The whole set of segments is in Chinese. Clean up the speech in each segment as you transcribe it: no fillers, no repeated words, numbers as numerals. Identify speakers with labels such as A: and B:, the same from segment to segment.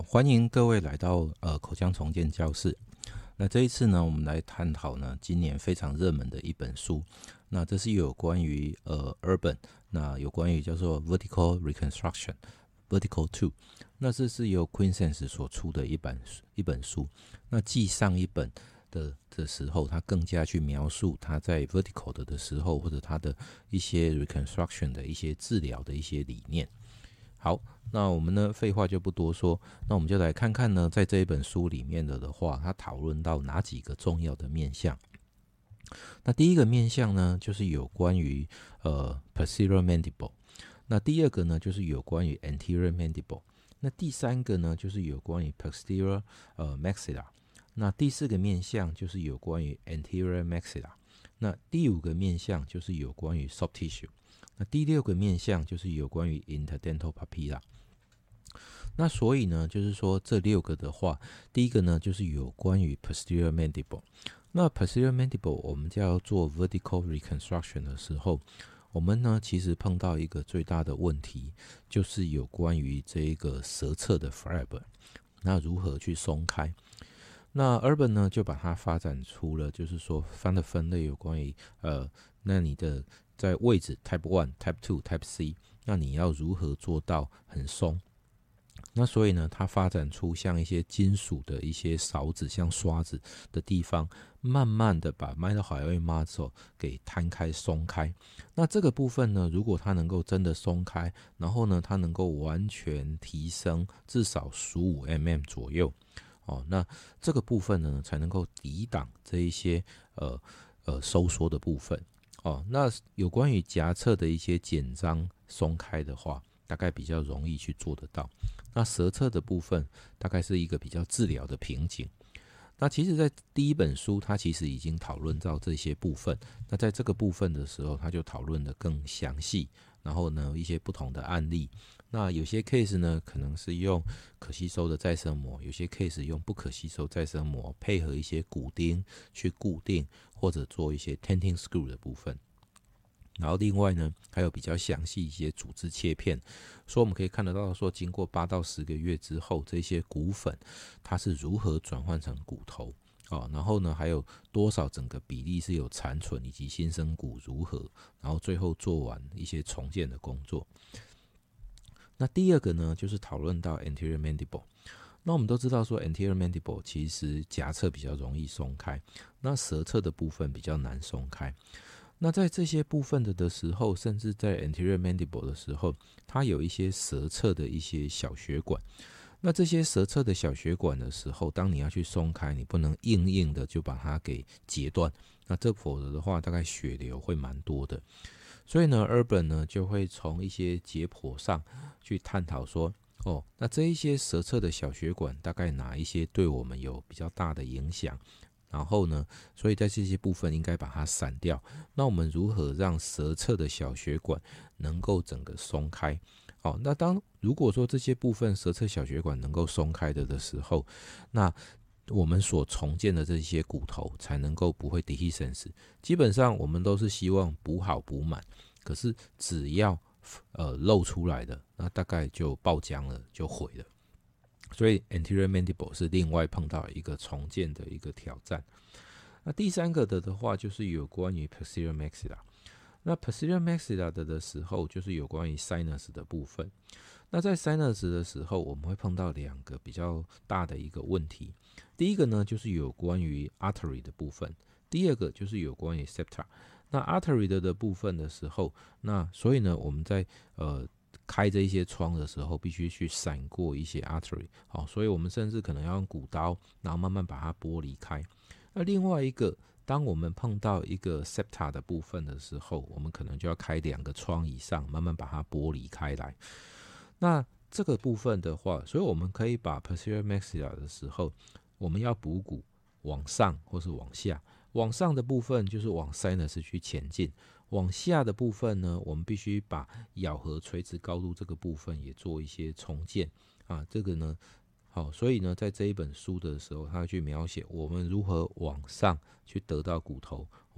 A: 歡迎各位來到口腔重建教室。那這一次呢，我們來探討呢今年非常熱門的一本書。那這是有關於Urban， 那有關於叫做 Vertical Reconstruction Vertical 2。那這是由 Quintessence 所出的一本書。那繼上一本的時候，他更加去描述他在 Vertical 的時候，或者他的一些 Reconstruction 的一些治療的一些理念。好，那我們呢，廢話就不多說，那我們就來看看呢，在這一本書裡面的話，他討論到哪幾個重要的面向。那第一個面向呢，就是有關於posterior mandible。那第二個呢，就是有關於 anterior mandible。那第三個呢，就是有關於 posterior maxilla。那第四個面向就是有關於 anterior maxilla。那第五個面向就是有關於 soft tissue。那第六個面向就是有關於 interdental papilla。那所以呢，就是說這六個的話，第一個呢就是有關於 posterior mandible。那 posterior mandible 我們就要做 vertical reconstruction 的時候，我們呢其實碰到一個最大的問題，就是有關於這一個舌側的 fiber， 那如何去鬆開？那 Urban 呢就把它發展出了，就是說它的分類有關於那你的在位置 Type 1、Type 2、Type C， 那你要如何做到很鬆？那所以呢，它發展出像一些金屬的一些勺子，像刷子的地方，慢慢的把 mitohyoid muscle 給攤開鬆開。那這個部分呢，如果它能夠真的鬆開，然後呢，它能夠完全提升至少15mm 左右，那這個部分呢，才能夠抵擋這一些收縮的部分。那有關於頰側的一些緊張鬆開的話，大概比較容易去做得到。那舌側的部分大概是一個比較治療的瓶頸。那其實在第一本書它其實已經討論到這些部分，那在這個部分的時候它就討論得更詳細，然後呢一些不同的案例。那有些 case 呢可能是用可吸收的再生膜，有些 case 用不可吸收再生膜配合一些骨釘去固定，或者做一些 tenting screw 的部分。然後另外呢，還有比較詳細一些組織切片，所以我們可以看得到說，經過8到10個月之後，這些骨粉它是如何轉換成骨頭，然後呢，還有多少整個比例是有殘存，以及新生骨如何，然後最後做完一些重建的工作。那第二個呢，就是討論到 anterior mandible。那我們都知道說 anterior mandible 其實頰側比較容易鬆開，那舌側的部分比較難鬆開。那在這些部分的時候，甚至在 anterior mandible 的時候，它有一些舌側的一些小血管。那這些舌側的小血管的時候，當你要去鬆開，你不能硬的就把它給截斷，那這否則的話，大概血流會蠻多的。所以呢 ，Urban 呢就會從一些解剖上去探討說，那這一些舌側的小血管大概哪一些對我們有比較大的影響？然後呢，所以在這些部分應該把它散掉。那我們如何讓舌側的小血管能夠整個鬆開？那如果說這些部分舌側小血管能夠鬆開的時候，那我們所重建的這些骨頭才能夠不會 dehiscence。基本上我們都是希望補好補滿，可是只要露出來的，那大概就爆漿了，就毀了。所以 anterior mandible 是另外碰到一個重建的一個挑戰。那第三個的話就是有關於 posterior maxilla。那 posterior maxilla 的時候就是有關於 sinus 的部分。那在 sinus 的時候，我們會碰到兩個比較大的一個問題。第一個呢就是有關於 artery 的部分，第二個就是有關於 septa。那 artery 的部分的時候，那所以呢我們在開這一些窗的時候，必須去閃過一些 artery，所以我們甚至可能要用骨刀，然後慢慢把它剝離開。那另外一個，當我們碰到一個 septa 的部分的時候，我們可能就要開2個窗以上，慢慢把它剝離開來。那這個部分的話，所以我們可以把 posterior maxilla 的時候，我們要補骨往上或是往下。往上的部分就是往 sinus 去前進，往下的部分呢，我們必須把咬合垂直高度這個部分也做一些重建這個呢，所以呢，在這一本書的時候，他去描寫我們如何往上去得到骨頭，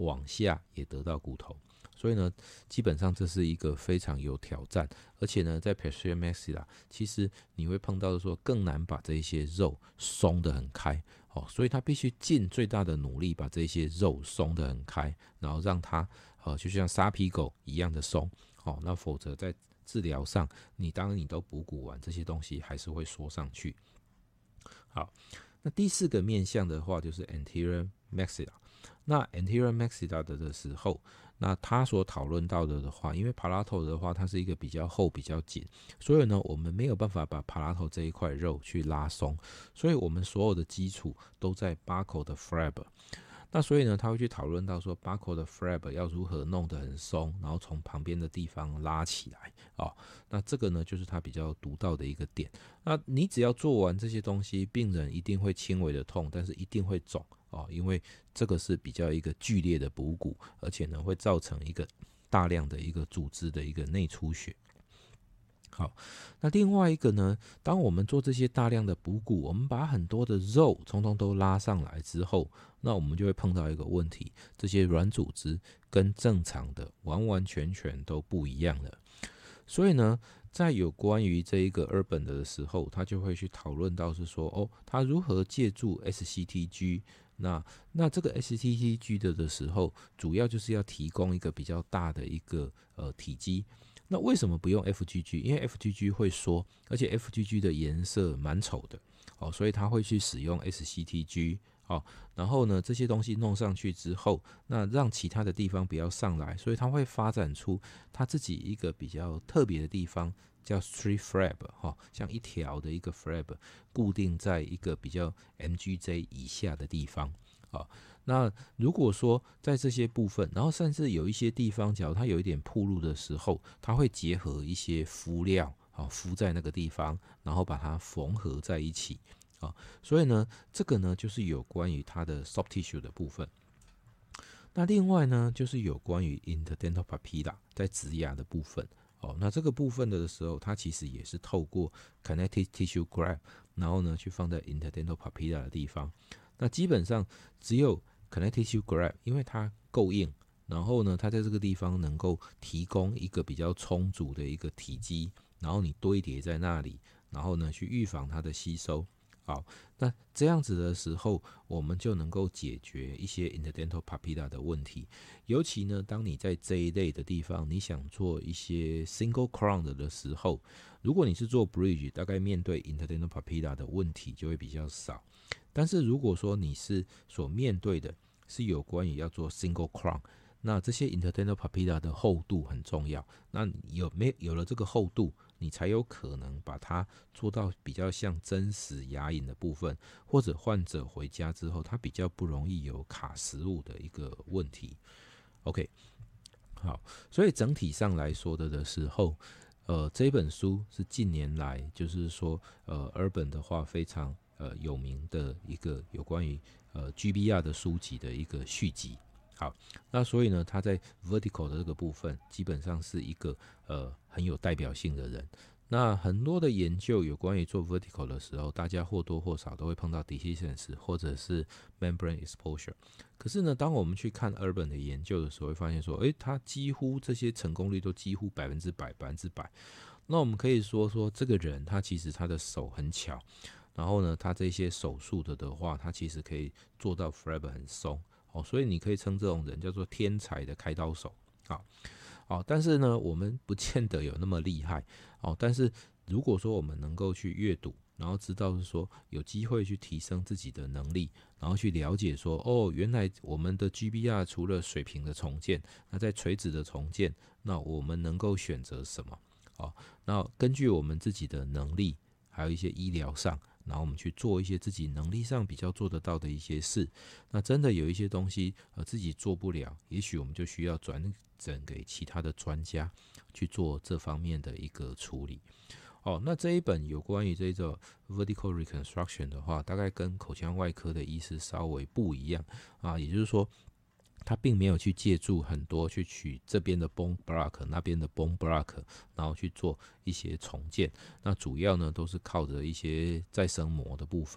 A: 往下也得到骨頭。所以呢，基本上這是一個非常有挑戰，而且呢，在 posterior maxilla 其實你會碰到的說更難把這些肉鬆得很開，所以他必須盡最大的努力把這些肉鬆得很開，然後讓它就像沙皮狗一樣的鬆，那否則在治療上，當然你都補骨完，這些東西還是會縮上去。好，那第4個面向的話就是 anterior maxilla。那 anterior maxilla 的時候，那他所討論到的話，因為 palatal 的話，它是一個比較厚、比較緊，所以呢，我們沒有辦法把 palatal 這一塊肉去拉鬆，所以我們所有的基礎都在 buccal 的 flap。那所以呢，他會去討論到說 buccal 的 flap 要如何弄得很鬆，然後從旁邊的地方拉起來那這個呢，就是他比較獨到的一個點。那你只要做完這些東西，病人一定會輕微的痛，但是一定會腫因為這個是比較一個劇烈的補骨，而且呢會造成一個大量的一個組織的一個內出血。好，那另外一個呢，當我們做這些大量的補骨，我們把很多的肉通通都拉上來之後，那我們就會碰到一個問題，這些軟組織跟正常的完完全全都不一樣了。所以呢，在有關於這一個 Urban 的時候，他就會去討論到是說，他如何借助 SCTG。那這個 SCTG 的時候，主要就是要提供一個比較大的一個體積。那為什麼不用 FGG？ 因為 FGG 會縮，而且 FGG 的顏色蠻醜的所以他會去使用 SCTG。然後呢，這些東西弄上去之後，那讓其他的地方不要上來，所以他會發展出他自己一個比較特別的地方，叫 street flap 像一條的一個 flap 固定在一個比較 MGJ 以下的地方。那如果說在這些部分，然後甚至有一些地方，假如它有一點暴露的時候，它會結合一些敷料敷在那個地方，然後把它縫合在一起。所以呢，這個呢就是有關於它的 soft tissue 的部分。那另外呢，就是有關於 interdental papilla 在植牙的部分。那這個部分的時候，它其實也是透過 connective tissue graft， 然後呢去放在 interdental papilla 的地方。那基本上只有 connective tissue graft， 因為它夠硬，然後呢它在這個地方能夠提供一個比較充足的一個體積，然後你堆疊在那裡，然後呢去預防它的吸收。好，那這樣子的時候，我們就能夠解決一些 interdental papilla 的問題。尤其呢，當你在這一類的地方，你想做一些 single crown 的時候，如果你是做 bridge， 大概面對 interdental papilla 的問題就會比較少。但是如果說你是所面對的是有關於要做 single crown， 那這些 interdental papilla 的厚度很重要。那有了這個厚度，你才有可能把它做到比較像真實牙齦的部分，或者患者回家之後，他比較不容易有卡食物的一個問題。OK， 好，所以整體上來說的時候，這本書是近年來就是說Urban 的話非常有名的一個有關於GBR 的書籍的一個續集。好，那所以呢，他在 vertical 的這個部分基本上是一個很有代表性的人。那很多的研究有關於做 vertical 的時候，大家或多或少都會碰到 dehiscence 或者是 membrane exposure。可是呢，當我們去看 Urban 的研究的時候，會發現說，他幾乎這些成功率都幾乎100%。那我們可以說這個人他其實他的手很巧，然後呢，他這些手術的話，他其實可以做到 flap 很鬆。所以你可以稱這種人叫做天才的開刀手。但是呢，我們不見得有那麼厲害。但是如果說我們能夠去閱讀，然後知道是說有機會去提升自己的能力，然後去了解說，原來我們的 GBR 除了水平的重建，那在垂直的重建，那我們能夠選擇什麼？那根據我們自己的能力，還有一些醫療上，然後我們去做一些自己能力上比較做得到的一些事。那真的有一些東西自己做不了，也許我們就需要轉診給其他的專家去做這方面的一個處理。那這一本有關於這個 vertical reconstruction 的話，大概跟口腔外科的醫師稍微不一樣也就是說，他並沒有去借助很多去取這邊的 bone block 那邊的 bone block， 然後去做一些重建。那主要呢都是靠着一些再生膜的部分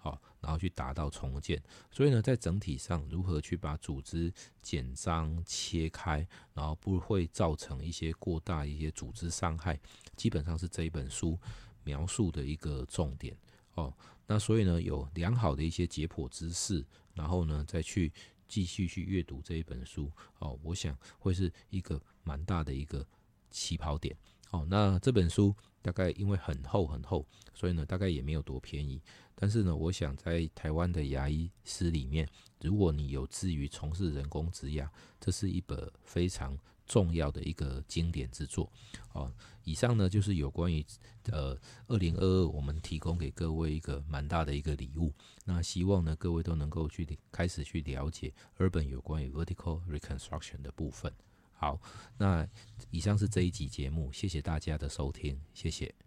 A: 好，然後去達到重建。所以呢，在整體上如何去把組織簡章切開，然後不會造成一些過大一些組織傷害，基本上是這一本書描述的一個重點哦。那所以呢，有良好的一些解剖知識，然後呢，再去繼續去閱讀這一本書哦，我想會是一個蠻大的一個起跑點哦。那這本書大概因為很厚很厚，所以呢，大概也沒有多便宜。但是呢，我想在台灣的牙醫師裡面，如果你有志於從事人工植牙，這是一本非常重要的一個經典之作哦。以上呢就是有關於2022我們提供給各位一個蠻大的一個禮物。那希望呢各位都能夠開始去了解 Urban 有關於 Vertical Reconstruction 的部分。好，那以上是這一集節目，謝謝大家的收聽，謝謝。